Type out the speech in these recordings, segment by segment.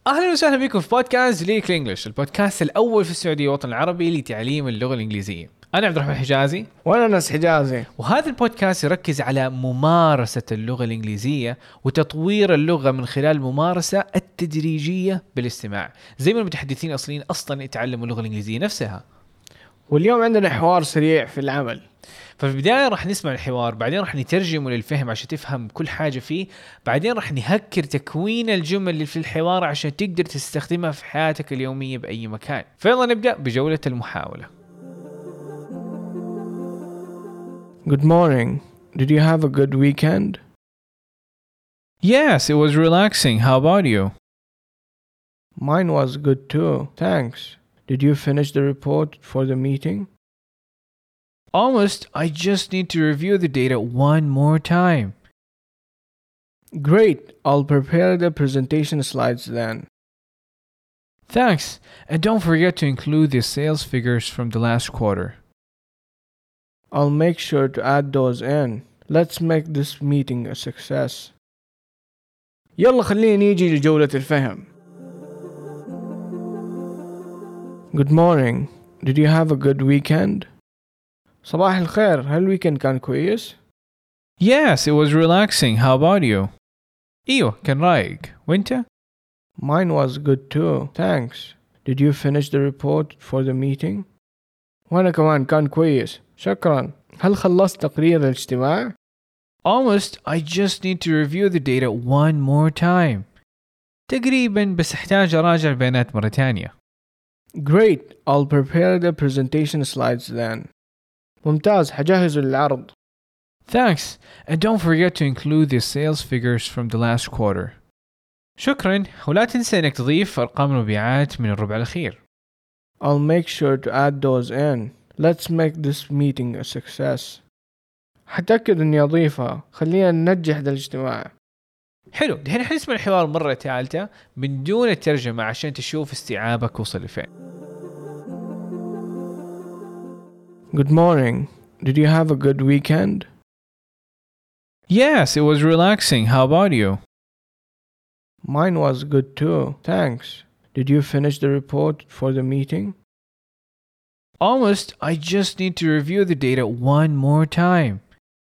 اهلا وسهلا بكم في بودكاست ليك الانجليش، البودكاست الاول في السعوديه والوطن العربي لتعليم اللغه الانجليزيه. انا عبد الرحمن حجازي، وانا ناس حجازي. وهذا البودكاست يركز على ممارسه اللغه الانجليزيه وتطوير اللغه من خلال الممارسه التدريجيه بالاستماع، زي ما المتحدثين الاصليين اصلا يتعلموا اللغه الانجليزيه نفسها. واليوم عندنا حوار سريع في العمل. ففي البداية راح نسمع الحوار، بعدين راح نترجمه للفهم عشان تفهم كل حاجة فيه، بعدين راح نهكر تكوين الجمل اللي في الحوار عشان تقدر تستخدمها في حياتك اليومية بأي مكان. فيلا نبدأ بجولة المحاولة. Good morning. Did you have a good weekend? Yes, it was relaxing. How about you? Mine was good too. Thanks. Did you finish the report for the meeting? Almost. I just need to review the data one more time. Great. I'll prepare the presentation slides then. Thanks. And don't forget to include the sales figures from the last quarter. I'll make sure to add those in. Let's make this meeting a success. يلا خلينا نيجي لجولة الفهم. Good morning. Did you have a good weekend? صباح الخير. هل الويكند كان كويس؟ Yes, it was relaxing. How about you? ايوه كان رايق. وانت؟ Mine was good too. Thanks. Did you finish the report for the meeting? وأنا كمان كان كويس. شكرا. هل خلصت تقرير الاجتماع؟ Almost. I just need to review the data one more time. تقريبا، بس احتاج اراجع البيانات مرة تانية. Great. I'll prepare the presentation slides then. ممتاز. حجهز العرض. Thanks. And don't forget to include the sales figures from the last quarter. شكرا. ولا تنسى انك تضيف ارقام المبيعات من الربع الاخير. I'll make sure to add those in. Let's make this meeting a success. حتأكد اني اضيفها. خلينا ننجح ذا الاجتماع. حلو. دحين حنسمع الحوار مرة ثالثة من دون الترجمة عشان تشوف استيعابك وصل لفين. Good morning. Did you have a good weekend? Yes, it was relaxing. How about you? Mine was good too. Thanks. Did you finish the report for the meeting? Almost. I just need to review the data one more time.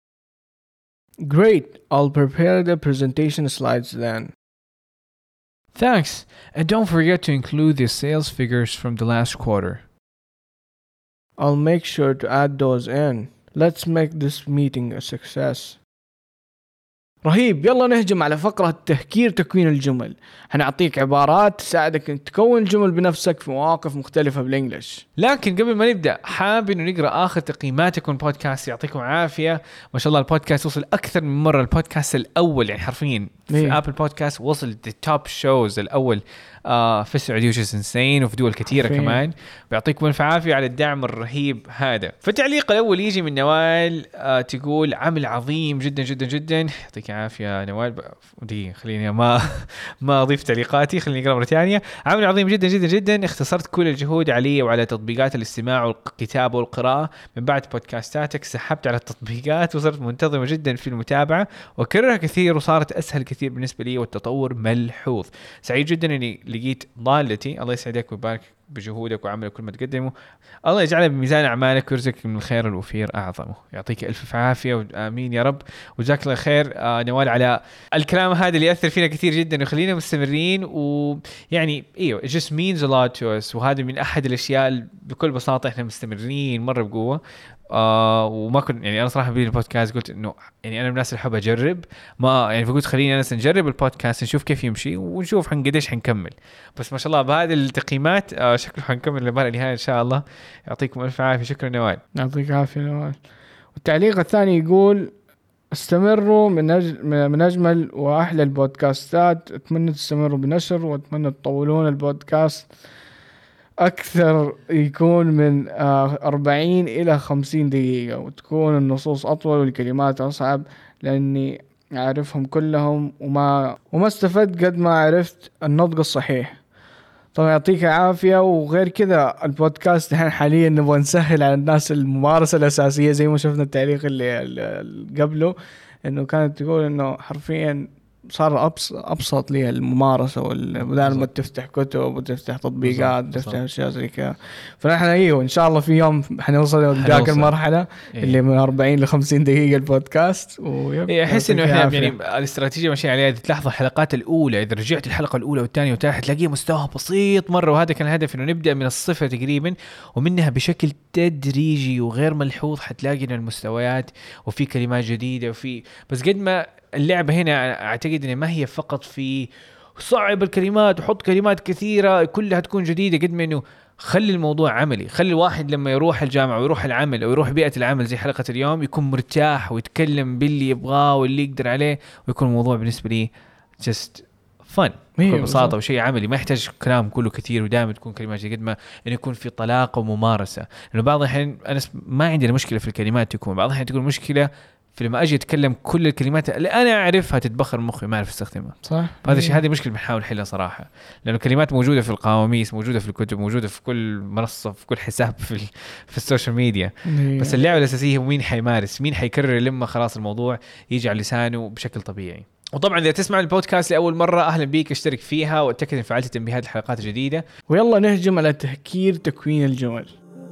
Great. I'll prepare the presentation slides then. Thanks. And don't forget to include the sales figures from the last quarter. I'll make sure to add those in. Let's make this meeting a success. رهيب. يلا نهجم على فقرة تهكير تكوين الجمل. هنعطيك عبارات تساعدك أن تكون الجمل بنفسك في مواقف مختلفة بالإنجليش. لكن قبل ما نبدأ حاب إنه نقرأ آخر تقييماتكم البودكاست. يعطيكم عافية. ما شاء الله البودكاست وصل أكثر من مرة. البودكاست الأول يعني حرفيا في أبل بودكاست وصل التوب شوز الأول في السعودية وش إنسين وفي دول كثيرة كمان. بيعطيكم ألف عافية على الدعم الرهيب هذا. فالتعليق الأول يجي من نوال تقول عمل عظيم جدا جدا جدا. يعطيك عافية نوال. دي خليني ما أضيف تعليقاتي. خليني أقرأ مرة ثانية. عمل عظيم جدا جدا جدا. اختصرت كل الجهود علي وعلى تطبيقات الاستماع والكتابة والقراءة. من بعد بودكاستاتك سحبت على التطبيقات وصرت منتظمة جدا في المتابعة وكررها كثير وصارت أسهل كثير بالنسبة لي والتطور ملحوظ. سعيد جدا أني لقيت ضالتي. الله يسعدك ويبارك بجهودك وعملك كل ما تقدمه. الله يجعلها بميزان أعمالك ويرزقك من الخير الوفير أعظمه. يعطيك ألف عافية وآمين يا رب. وجزاك الله خير نوال على الكلام هذا اللي يأثر فينا كثير جدا ويخلينا مستمرين. ويعني إيوه it just means a lot to us. وهذا من أحد الأشياء بكل بساطة إحنا مستمرين مرة بقوة. وما كنت يعني أنا صراحة بدي البودكاست قلت إنه يعني أنا من الناس اللي حابة أجرب ما يعني فقلت خليني أنا نجرب البودكاست نشوف كيف يمشي ونشوف قديش حنكمل. بس ما شاء الله بهذه التقييمات شكله حنكمل لبعد النهاية إن شاء الله. يعطيكم ألف عافية. شكرا نوال. يعطيك عافية نوال. والتعليق الثاني يقول استمروا من أجمل وأحلى البودكاستات. أتمنى تستمروا بنشر وأتمنى تطولون البودكاست أكثر يكون من 40 إلى 50 دقيقة وتكون النصوص أطول والكلمات أصعب لأني أعرفهم كلهم وما استفدت قد ما عرفت النطق الصحيح. طبعا يعطيك عافية. وغير كذا البودكاست حاليا نبغى نسهل على الناس الممارسة الأساسية زي ما شفنا التعليق اللي قبله إنه كانت تقول إنه حرفيا صار أبسط لي الممارسة بدل ما تفتح كتب وتفتح تطبيقات وتفتح أشياء زي كذا. فنحن إن شاء الله في يوم حنوصل لذاك المرحلة اللي من 40 ل 50 دقيقة البودكاست. أحس إنه إحنا يعني الاستراتيجية ماشية عليها. إذا تلاحظوا الحلقات الأولى، إذا رجعت الحلقة الأولى والثانية والثالثة تلاقيه مستوى بسيط مرة، وهذا كان الهدف إنه نبدأ من الصفر تقريبا، ومنها بشكل تدريجي وغير ملحوظ حتلاقي إن المستويات وفي كلمات جديدة وفي بس قد ما اللعبة هنا أعتقد إن ما هي فقط في صعب الكلمات وحط كلمات كثيرة كلها تكون جديدة، قد ما إنه خلي الموضوع عملي. خلي الواحد لما يروح الجامعة ويروح العمل أو يروح بيئة العمل زي حلقة اليوم يكون مرتاح ويتكلم باللي يبغاه واللي يقدر عليه، ويكون الموضوع بالنسبة لي just fun بكل بساطة وشيء عملي، ما يحتاج كلام كله كثير ودائما تكون كلمات قد ما إنه يكون في طلاقة وممارسة. لأنه بعض الحين أنا ما عندي مشكلة في الكلمات، تكون بعض الحين تكون مشكلة فلما أجي أتكلم كل الكلمات اللي أنا أعرفها تتبخر مخي ما أعرف استخدمها. صح. هذا الشيء هذه مشكلة بنحاول نحلها صراحة، لأنه كلمات موجودة في القواميس، موجودة في الكتب، موجودة في كل منصة، في كل حساب في السوشيال ميديا. بس اللعبة الأساسية هو مين حيمارس، مين حيكرر لما خلاص الموضوع يجي على لسانه بشكل طبيعي. وطبعا إذا تسمع البودكاست لأول مرة أهلا بيك، اشترك فيها واتأكد إن فعلت تنبيهات الحلقات الجديدة. ويلا نهجم على تهكير تكوين الجمل.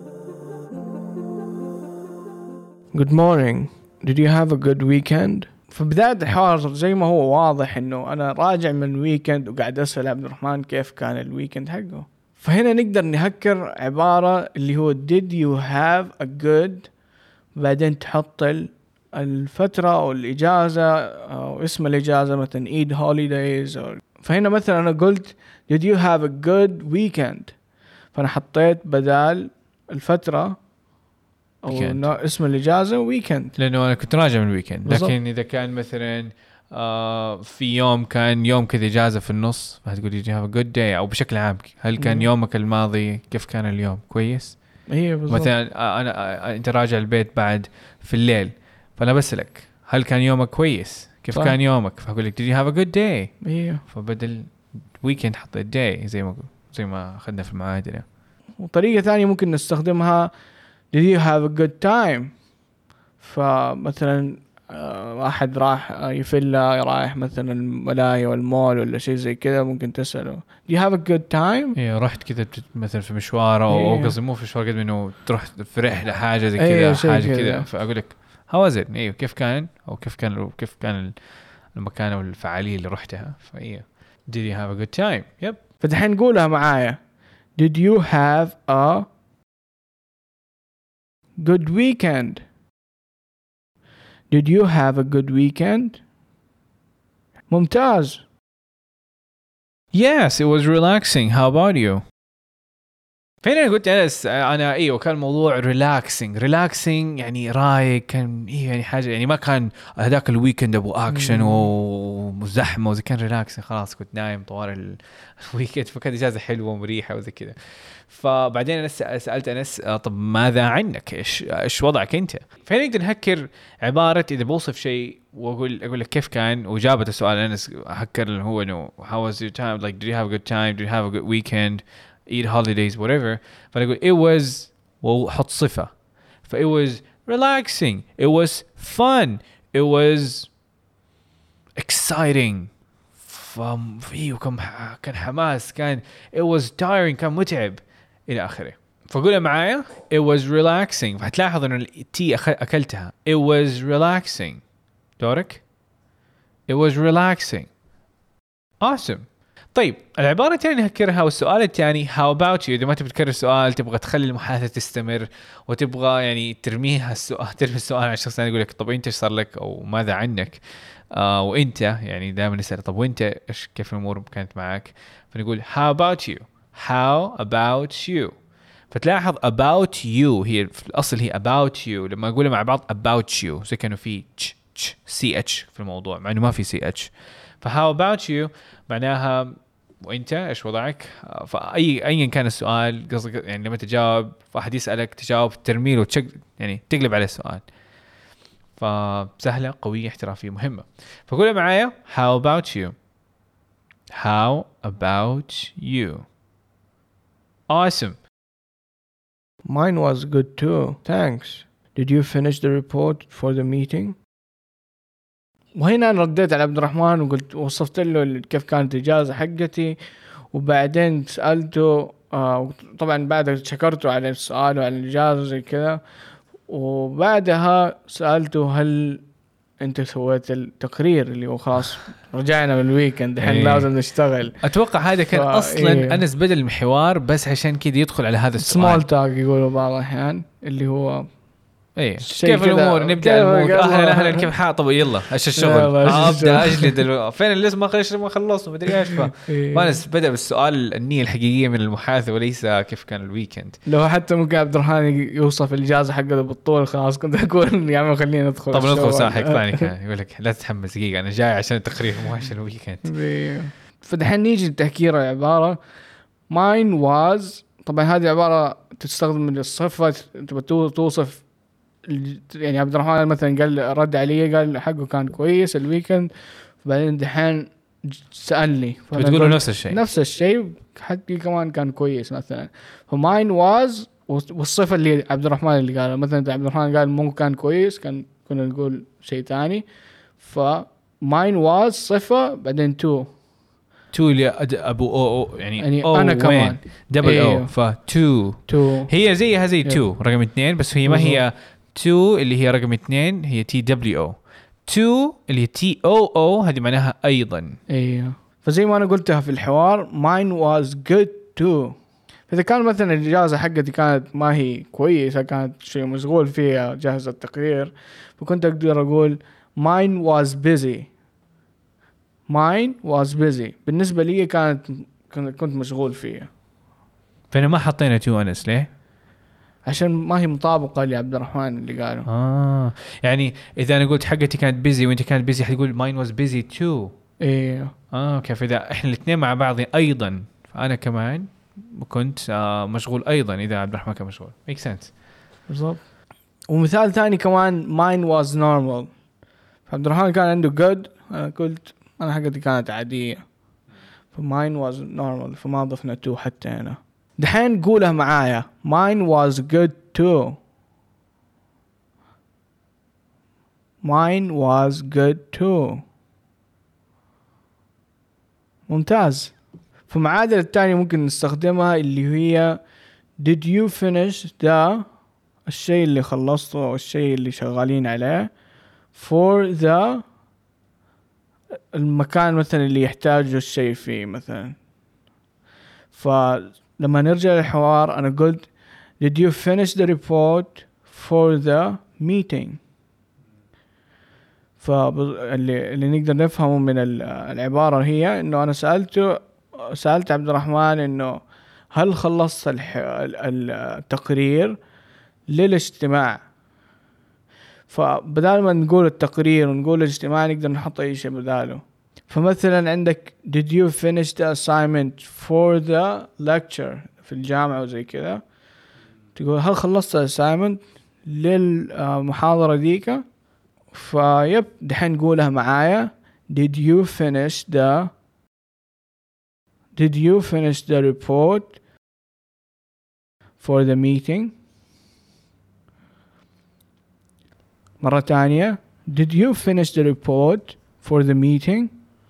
Good morning. Did you have a good weekend? في بداية الحوار زي ما هو واضح إنه أنا راجع من ويكند وقاعد أسأل عبد الرحمن كيف كان الويكند حقه. فهنا نقدر نهكر عبارة اللي هو did you have a good، بعدين تحط الفترة أو الإجازة أو اسم الإجازة مثلا Eid holidays فهنا مثلا أنا قلت did you have a good weekend، فأنا حطيت بدال الفترة أو اسم الإجازة ويكند، لأنه أنا كنت راجع من الويكند. لكن إذا كان مثلا في يوم كان يوم كذا إجازة في النص، هتقول did you have a good day، أو بشكل عام هل كان يومك الماضي كيف كان اليوم كويس؟ مثلا أنت راجع البيت بعد في الليل، فأنا بسألك هل كان يومك كويس؟ كيف كان يومك؟ فأقول لك did you have a good day؟ فبدل weekend حطيت day زي ما أخذنا في المعادلة. وطريقة ثانية ممكن نستخدمها did you have a good time؟ فمثلا واحد راح يفلا رايح مثلا الملاهي والمول ولا شيء زي كذا، ممكن تسأله do you have a good time؟ رحت كذا مثلا في مشوار أو قصدي مو في مشوار قد إنه تروح في رحلة حاجة زي كذا حاجة كذا، فأقول لك how was it؟ كيف كان أو كيف كان المكان أو الفعالية اللي رحتها. did you have a good time؟ فدحين نقولها معايا did you have a good weekend؟ Did you have a good weekend؟ ممتاز. Yes, it was relaxing. How about you؟ فين أنا قلت أنا كان الموضوع relaxing يعني رايق، كان يعني حاجة يعني ما كان هذاك الويكند أبو أكشن وزحمة وزي، كان relaxing خلاص كنت نايم طوال الويكند، فكانت إجازة حلوة ومريحة وزي كذا. فبعدين أنا سألت أنس طب ماذا عنك؟ إيش وضعك أنت؟ فين نقدر نهكر عبارة إذا بوصف شيء وأقول لك كيف كان، وجابت السؤال أنس هكر اللي هو إنه how was your time، like did you have a good time، did you have a good weekend، eat holidays whatever. فأقول it was وحط صفة، it was relaxing، it was fun، it was exciting، كان حماس، كان it was tiring، كان متعب إلى آخره. فقولها معايا it was relaxing، فهتلاحظ إنه التي أكلتها it was relaxing. دورك it was relaxing. awesome. طيب العبارة الثانية نهكرها، والسؤال الثاني how about you. إذا ما تبغى تكرر السؤال، تبغى تخلي المحادثة تستمر وتبغى يعني ترمي السؤال على الشخص الثاني، يقول لك طب أنت إيش صار لك أو ماذا عنك، وأنت يعني دائما نسأل طب وأنت إيش كيف الأمور كانت معك، فنقول how about you. فتلاحظ about you هي في الأصل هي about you، لما أقولها مع بعض about you زي كانوا في ch في الموضوع مع إنه ما في ch. فhow about you معناها وانت ايش وضعك. فايا كان السؤال قصدك يعني لما تجاوب فاحد يسالك تجاوب ترميل يعني تقلب على السؤال. فسهله قويه احترافيه مهمه. فقولها معايا how about you. awesome. Mine was good too, thanks. Did you finish the report for the meeting? وهنا أنا رديت على عبد الرحمن وقلت وصفت له كيف كانت الإجازة حقتي، وبعدين سألته طبعا بعد شكرته على السؤال وعلى الإجازة زي كذا، وبعدها سألته هل انت سويت التقرير اللي هو خلاص رجعنا من الويكند الحين لازم نشتغل. اتوقع هذا كان اصلا انس بدل المحور بس عشان كذا يدخل على هذا السؤال. سمول توك يقولوا بعض الاحيان اللي هو ايه كيف الامور، نبدا المود اهلا كيف حال، طب يلا ايش الشغل، ابدا اجلد فين اللي ما خلصنا مدري ايش. فانس بدا بالسؤال النيه الحقيقيه من المحادثه وليس كيف كان الويكند. لو حتى ممكن عبد الرحمن يوصف الاجازه حقته بالطول خلاص كنت اقول يا عم خلينا ندخل. طب ندخل ساحق ثاني كان يقول لك لا تتحمس دقيقه انا جاي عشان التقرير مو عشان الويكند. فدحين نيجي لتحكير العباره mine was. طبعا هذه عباره تستخدم من الصفه تبى توصف يعني عبد الرحمن مثلا قال رد علي قال حقه كان كويس الويكند، بعدين دحين سألني بتقول نفس الشيء حقي كمان كان كويس مثلا. فماين واز والصفة اللي عبد الرحمن اللي قال مثلا عبد الرحمن قال مو كان كويس كنا نقول شيء تاني. فماين واز صفة بعدين تو اللي ابو او يعني أو انا كمان دبل او فتو هي زيها زي تو رقم 2 بس هي ما هي 2 اللي هي رقم 2 هي تي دبليو او 2 اللي هي تي او هذه معناها ايضا. ايوه فزي ما انا قلتها في الحوار mine was good too. فاذا كان مثلا الاجازه حقتي كانت ما هي كويسه كانت شيء مشغول فيها جهز التقرير فكنت اقدر اقول mine was busy بالنسبه لي كنت مشغول فيها. فانا ما حطينا تو انس ليه؟ عشان ما هي مطابقة لعبد الرحمن اللي قاله. يعني إذا أنا قلت حقتي كانت بيزي وأنت كانت بيزي حتقول mine was busy too. إيه. كيف إذا إحنا الاثنين مع بعض أيضا فأنا كمان كنت مشغول أيضا إذا عبد الرحمن كان مشغول. make sense. بالضبط. ومثال ثاني كمان mine was normal. فعبد الرحمن كان عنده good أنا قلت أنا حقتي كانت عادية. فmine was normal فما ضفنا to حتى هنا. دحين قولها معايا mine was good too. mine was good too. ممتاز. فمعادلة الثانية ممكن نستخدمها اللي هي did you finish the الشيء اللي خلصته أو الشيء اللي شغالين عليه for the المكان مثلا اللي يحتاجه الشيء فيه مثلا. لما نرجع للحوار أنا قلت did you finish the report for the meeting. فاللي نقدر نفهمه من العبارة هي إنه أنا سألت عبد الرحمن إنه هل خلصت التقرير للاجتماع. فبدال ما نقول التقرير ونقول الاجتماع نقدر نحط أي شيء بداله. فمثلا عندك did you finish the assignment for the lecture في الجامعة وزي كذا تقول هل خلصت assignment للمحاضرة ديك. فيب دحين نقولها معايا did you finish the report for the meeting. مرة تانية did you finish the report for the meeting.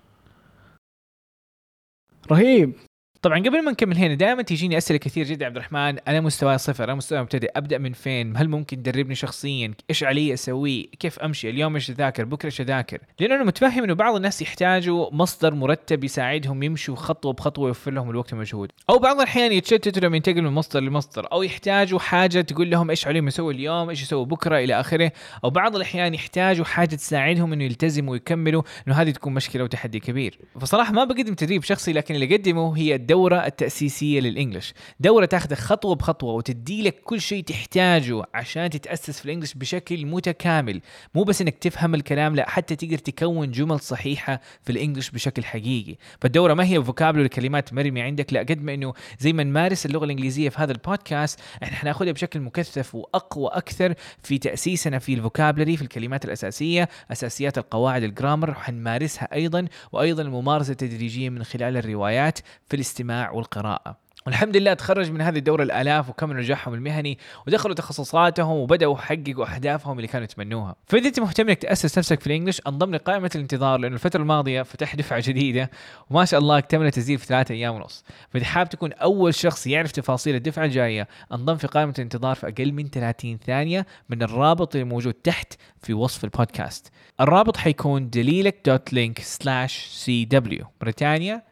رهيب. طبعا قبل ما نكمل هنا دائما تيجيني أسئلة كثير جدا عبد الرحمن أنا مستواي صفر أنا مستواي مبتدئ أبدأ من فين هل ممكن تدربني شخصيا إيش علي أسوي كيف أمشي اليوم إيش أذاكر بكرة إيش أذاكر. لأنه أنا متفهم إنه بعض الناس يحتاجوا مصدر مرتب يساعدهم يمشوا خطوة بخطوة يوفر لهم الوقت والمجهود أو بعض الأحيان يتشتتوا لما ينتقلوا من مصدر لمصدر أو يحتاجوا حاجة تقول لهم إيش عليهم يسوي اليوم إيش يسوي بكرة إلى آخره. أو بعض الأحيان يحتاجوا حاجة تساعدهم إنه يلتزموا ويكملوا إنه هذه تكون مشكلة وتحدي كبير. فصراحة ما بقدم تدريب شخصي لكن اللي قدمه هي الدورة التأسيسية للإنجليش. دورة تاخذك خطوة بخطوة وتدي لك كل شيء تحتاجه عشان تتأسس في الإنجليش بشكل متكامل. مو بس إنك تفهم الكلام لا حتى تقدر تكون جمل صحيحة في الإنجليش بشكل حقيقي. فالدورة ما هي فوكابلري كلمات مرمية عندك لا قد ما إنه زي ما نمارس اللغة الإنجليزية في هذا البودكاست إحنا حناخدها بشكل مكثف وأقوى أكثر في تأسيسنا في الفوكابلري في الكلمات الأساسية أساسيات القواعد الجرامر وحنمارسها أيضا وأيضا الممارسة التدريجية من خلال الروايات في الاستماع والقراءة. والحمد لله تخرج من هذه الدورة الآلاف وكملوا نجاحهم المهني ودخلوا تخصصاتهم وبدأوا يحققوا أهدافهم اللي كانوا يتمنوها. فإذا أنت مهتم إنك تأسس نفسك في الإنجليش انضم لقائمة الانتظار، لأنه الفترة الماضية فتح دفعة جديدة وما شاء الله اكتمل تسجيل في 3 أيام ونص. فإذا حاب تكون أول شخص يعرف تفاصيل الدفعة الجاية انضم في قائمة الانتظار في أقل من 30 ثانية من الرابط اللي موجود تحت في وصف البودكاست. الرابط حيكون dalilek.link/cw بريطانيا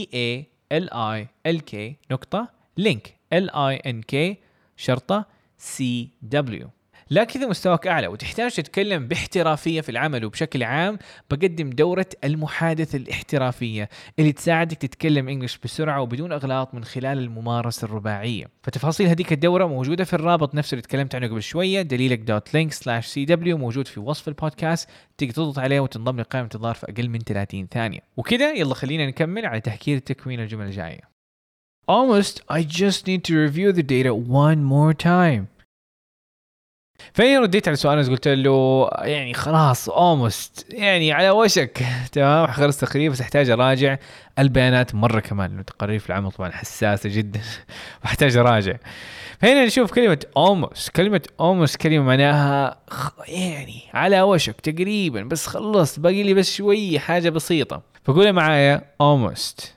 DALILK LINK.CW. لكن إذا مستواك أعلى وتحتاج تتكلم باحترافية في العمل وبشكل عام، بقدم دورة المحادثة الاحترافية اللي تساعدك تتكلم إنجليش بسرعة وبدون أغلاط من خلال الممارسة الرباعية. فتفاصيل هذيك الدورة موجودة في الرابط نفسه اللي تكلمت عنه قبل شوية dalilek.link/cw موجود في وصف البودكاست. تقدر تضغط عليه وتنضم لقائمة انتظار في أقل من 30 ثانية. وكذا يلا خلينا نكمل على تحكير تكوين الجمل الجاية. Almost, I just need to review the data one more time. فأنا رديت على سؤال قلت له يعني خلاص almost يعني على وشك تمام خلص تقريبا، بس احتاج اراجع البيانات مرة كمان لأنه تقارير في العمل طبعا حساسة جدا واحتاج اراجع. فهنا نشوف كلمة almost. كلمة almost كلمة معناها يعني على وشك تقريبا، بس خلصت باقي لي بس شوية حاجة بسيطة. فقولها معايا almost.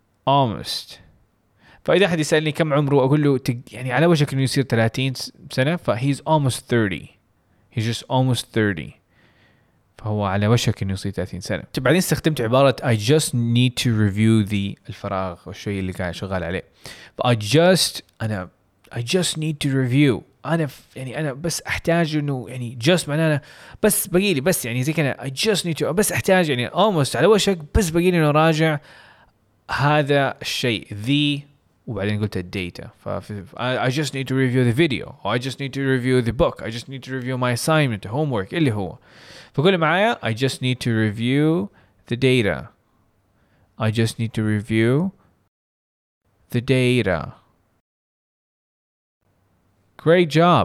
فإذا أحد يسألني كم عمره أقول له يعني على وشك إنه يصير 30 سنة، he's almost 30. he's just almost 30. فهو على وشك إنه يصير 30 سنة. بعدين استخدمت عبارة I just need to review الفراغ والشيء اللي قاعد شغال عليه. I just need to review. أنا بس أحتاج إنه يعني just معناه بس باقي لي بس يعني زي كذا I just need to بس أحتاج يعني almost على وشك بس باقي لي إنه راجع هذا الشيء وبعدين قلت الداتا. I just need to review the video, or I just need to review the book, I just need to review my assignment, homework اللي هو. فقول معايا I just need to review the data. I just need to review the data. Great job.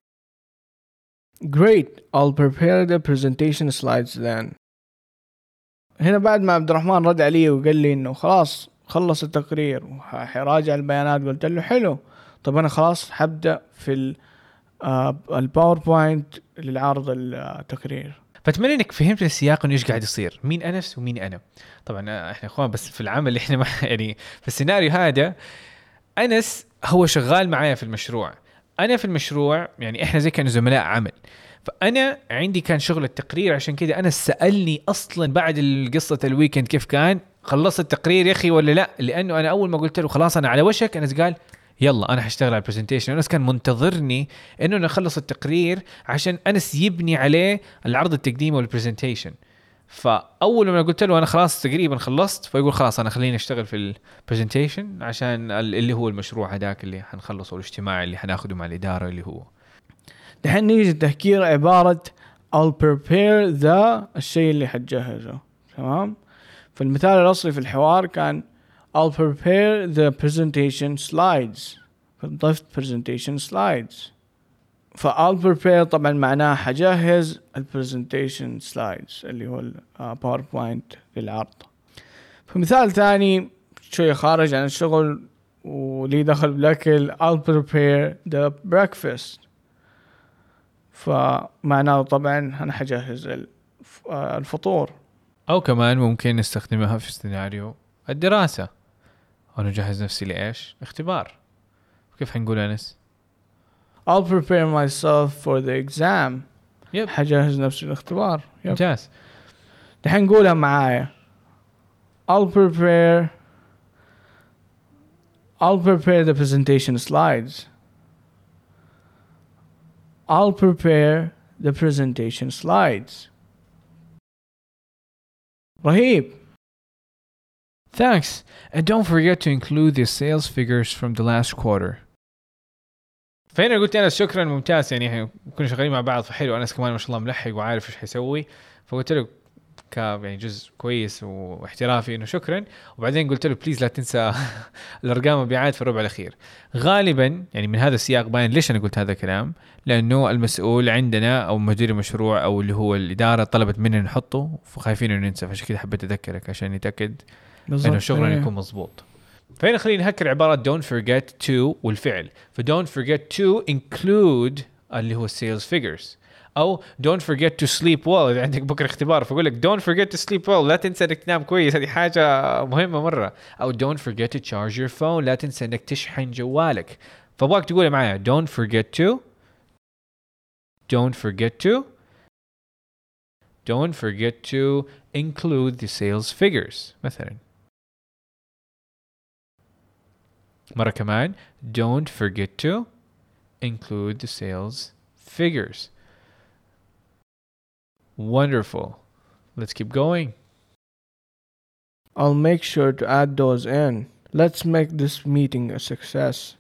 Great. I'll prepare the presentation slides then. هنا بعد ما عبد الرحمن رد علي وقال لي انه خلاص خلص التقرير وحراجع البيانات، قلت له حلو، طب أنا خلاص حبدأ في الباوربوينت للعرض التقرير. فأتمنى إنك فهمت السياق إنه إيش قاعد يصير، مين أنس ومين أنا. طبعا إحنا إخوان بس في العمل إحنا ما يعني في السيناريو هذا أنس هو شغال معايا في المشروع، أنا في المشروع يعني إحنا زي كانوا زملاء عمل. فأنا عندي كان شغل التقرير، عشان كده أنا سألني أصلا بعد القصة الويكند كيف كان خلصت التقرير يا أخي ولا لا، لأنه أنا أول ما قلت له خلاص أنا على وشك، أنس قال يلا أنا هشتغل على البرزنتيشن. أنس كان منتظرني إنه نخلص التقرير عشان أنس يبني عليه العرض التقديمي والبرزنتيشن. فأول ما قلت له أنا خلاص تقريبا خلصت، فيقول خلاص أنا خليني أشتغل في البرزنتيشن عشان اللي هو المشروع هداك اللي هنخلصه والاجتماع اللي هناخده مع الإدارة اللي هو. دحين نيجي التحكير عبارة I'll prepare الشيء اللي حتجهزه. تمام. فالمثال الأصلي في الحوار كان I'll prepare the presentation slides. فضفت presentation slides. I'll prepare طبعا معناه حجهز presentation slides اللي هو PowerPoint للعرض. فمثال ثاني شوية خارج عن الشغل ولي دخل بالأكل I'll prepare the breakfast. فمعناه طبعا أنا حجهز الفطور. أو كمان ممكن نستخدمها في سيناريو الدراسة، أنا جهز نفسي لإيش؟ اختبار. كيف هنقول أنس؟ I'll prepare myself for the exam. حجهز نفسي للاختبار. ممتاز. دحين نقولها معايا I'll prepare the presentation slides. I'll prepare the presentation slides. رهيب. Thanks, and don't forget to include the sales figures from the last quarter. فهنا قلت أنا شكرا ممتاز، يعني كنا شغالين مع بعض فحلو. أنس كمان ما شاء الله ملحق وعارف إيش حيسوي، فقلت له يعني جزء كويس واحترافي إنه شكرا. وبعدين قلت له بليز لا تنسى الأرقام مبيعات في الربع الأخير. غالبا يعني من هذا السياق باين ليش أنا قلت هذا الكلام، لأنه المسؤول عندنا أو مدير المشروع أو اللي هو الإدارة طلبت مننا نحطه، فخايفين إنه ننسى، فعشان كده حبيت أذكرك عشان نتأكد إنه شغلنا يكون مضبوط. فهنا خلينا نهكر عبارة don't forget to والفعل. ف don't forget to include اللي هو sales figures. أو don't forget to sleep well إذا عندك بكرة اختبار فأقول لك don't forget to sleep well لا تنسى إنك تنام كويس هذه حاجة مهمة مرة. أو don't forget to charge your phone لا تنسى إنك تشحن جوالك. فأبغاك تقول معايا don't forget to don't forget to include the sales figures مثلا. مرة كمان don't forget to include the sales figures. Wonderful. Let's keep going. I'll make sure to add those in. Let's make this meeting a success.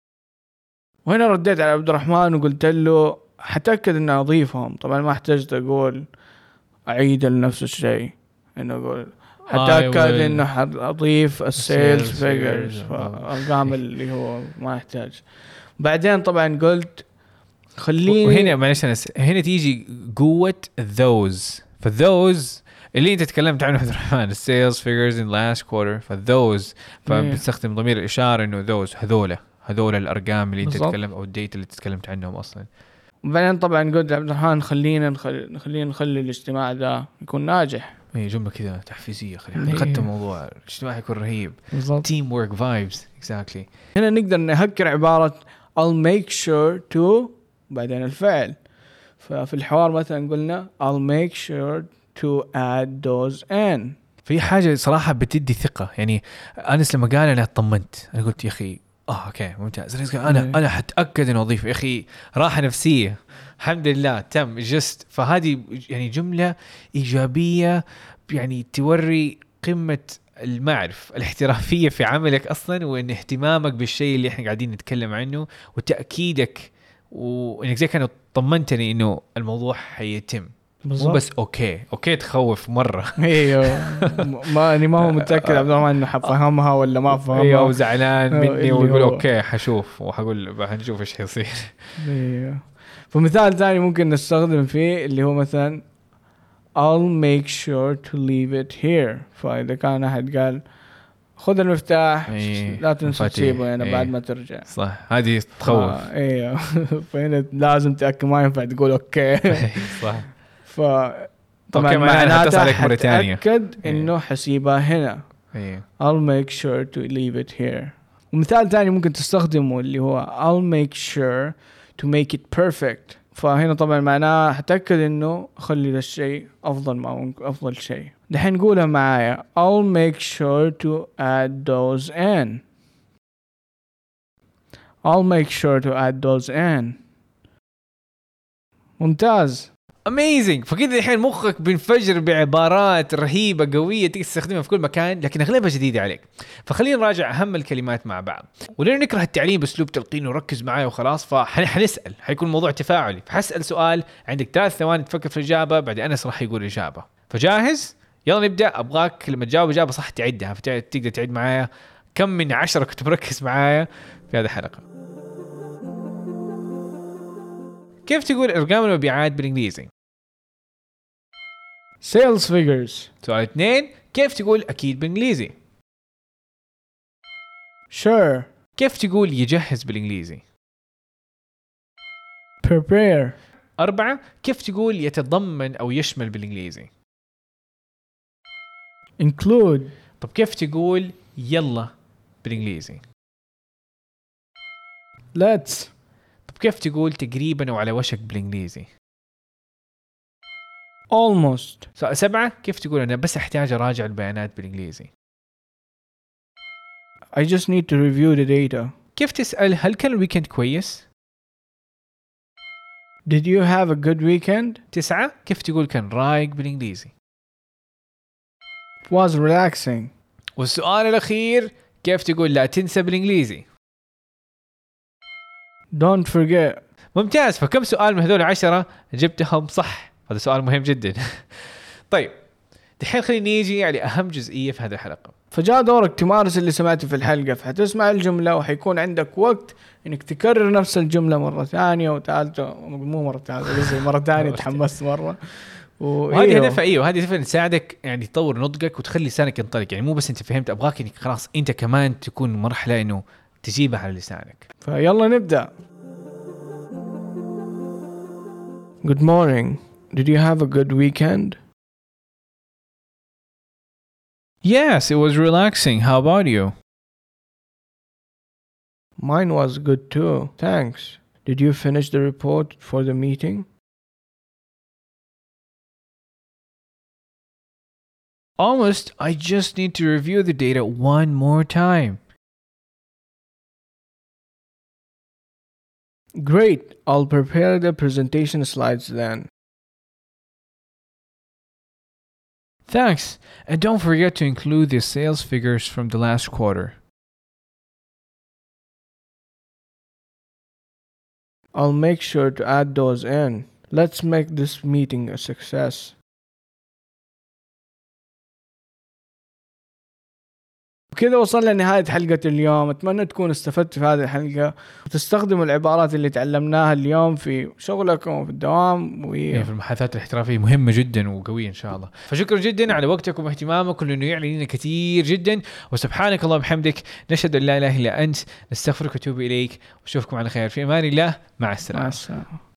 وهنا رديت على عبد الرحمن وقلت له حتأكد إن أضيفهم. طبعا ما احتجت أقول أعيد لنفس الشيء. إنه أقول حتأكد إنه أضيف السيلز فيجرز أرقام اللي هو ما يحتاج. بعدين طبعا قلت خليني وهنا معلش هنا تيجي قوة those. فthose اللي انت تكلمت عنه عبد الرحمن sales figures in last quarter فthose فبتستخدم ضمير الإشارة إنه those هذول الأرقام اللي انت تتكلم أو الديت اللي تتكلمت عنهم أصلا. وبعدين طبعا قلت عبد الرحمن خلينا نخلي الاجتماع ده يكون ناجح. اي جملة كذا تحفيزية خلينا نقدم موضوع الاجتماع يكون رهيب. team work vibes exactly. هنا نقدر نهكر عبارة I'll make sure to بعدين الفعل. ففي الحوار مثلا قلنا I'll make sure to add those in. في حاجة صراحة بتدي ثقة يعني أنس لما قال أنا اطمنت أنا قلت يا أخي أوكي ممتاز أنا حتأكد إنه أضيف يا أخي راحة نفسية الحمد لله تم جست. فهذه يعني جملة إيجابية يعني توري قمة المعرفة الاحترافية في عملك أصلا وإن اهتمامك بالشيء اللي إحنا قاعدين نتكلم عنه وتأكيدك وإنك زي كانوا طمنتني إنه الموضوع حيتم. مو بس أوكي تخوف مرة. أيوه ما هو متأكد عبد الرحمن إنه حفهمها ولا ما فهمها. أيوه وزعلان مني ويقول أوكي حشوف وحقول هنشوف إيش حيصير. أيوه. فمثال ثاني ممكن نستخدم فيه اللي هو مثلا I'll make sure to leave it here. فإذا كان أحد قال خذ المفتاح لا تنسى تسيبه أنا بعد ما ترجع. صح هذه تخوف. ايوه فهنا لازم تأكد ما ينفع تقول اوكي. صح. طبعا معناتها حتأكد انه حسيبها هنا. I'll make sure to leave it here. ومثال ثاني ممكن تستخدمه اللي هو I'll make sure to make it perfect. فهنا طبعا معناه حتأكد انه خلي الشيء افضل شيء. دحين نقولها معايا I'll make sure to add those in. I'll make sure to add those in. ممتاز. amazing. فكده الحين مخك بينفجر بعبارات رهيبة قوية تقدر تستخدمها في كل مكان لكن أغلبها جديدة عليك. فخلينا نراجع أهم الكلمات مع بعض. ولين نكره التعليم بأسلوب تلقين وركز معايا وخلاص فحنسأل حيكون موضوع تفاعلي. فحسأل سؤال عندك 3 ثواني تفكر في الإجابة بعد أنس راح يقول الإجابة. فجاهز؟ يلا نبدأ. أبغاك لما تجاوب إجابة صح تعدها فتقدر تعد معايا كم من 10 كنت مركز معايا في هذه الحلقة. كيف تقول أرقام المبيعات بالإنجليزي؟ sales figures. سؤال 2 كيف تقول أكيد بالإنجليزي؟ sure. كيف تقول يجهز بالإنجليزي؟ prepare. 4 كيف تقول يتضمن أو يشمل بالإنجليزي؟ include. طب كيف تقول يلا بالإنجليزي؟ let's. طب كيف تقول تقريبا وعلى وشك بالإنجليزي؟ almost. سؤال 7 كيف تقول أنا بس أحتاج أراجع البيانات بالإنجليزي؟ I just need to review the data. كيف تسأل هل كان الويكند كويس؟ Did you have a good weekend? 9 كيف تقول كان رايق بالإنجليزي؟ It was relaxing. والسؤال الأخير كيف تقول لا تنسى بالإنجليزي؟ Don't forget. ممتاز. فكم سؤال من هذول 10 جبتهم صح؟ هذا سؤال مهم جدا. طيب دحين خلينا نيجي على أهم جزئية في هذه الحلقة. فجاء دورك تمارس اللي سمعته في الحلقة فحتسمع الجملة وحيكون عندك وقت إنك تكرر نفس الجملة مرة ثانية وثالثة. مو مرة ثالثة بس مرة ثانية تحمست مرة وهذه هدفها وهذه هدفها تساعدك يعني تطور نضجك وتخلي لسانك ينطلق. يعني مو بس انت فهمت، ابغاك انك خلاص انت كمان تكون مرحله انه تجيبها على لسانك. فيلا نبدا. Good morning. Did you have a good weekend? Yes, it was relaxing. How about you? Mine was good too. Thanks. Did you finish the report for the meeting? Almost. I just need to review the data one more time. Great. I'll prepare the presentation slides then. Thanks. And don't forget to include the sales figures from the last quarter. I'll make sure to add those in. Let's make this meeting a success. وكذا وصلنا لنهاية حلقة اليوم. أتمنى تكونوا استفدتوا في هذه الحلقة وتستخدموا العبارات اللي تعلمناها اليوم في شغلكم وفي الدوام في المحادثات الاحترافية مهمة جدا وقوية إن شاء الله. فشكرا جدا على وقتكم واهتمامكم لأنه يعني لنا كثير جدا. وسبحانك الله وبحمدك نشهد أن لا إله إلا أنت نستغفرك ونتوب إليك. وأشوفكم على خير في أمان الله. مع السلامة.